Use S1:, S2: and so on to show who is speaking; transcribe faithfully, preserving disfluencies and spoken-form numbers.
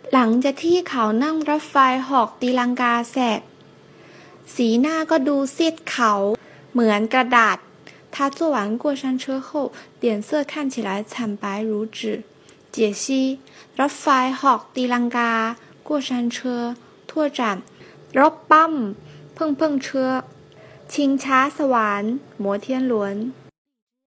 S1: หลังจากที่เขานั่งรถไฟหอกตีลังกาเสร็จสีหน้าก็ดูซีดเขาเหมือนกระดาษ他坐完过山车后脸色看起来惨白如纸解析รถไฟหอกตีลังกา过山车拓展รถบั้ม碰碰车ชิงช้าสวรรค์摩天轮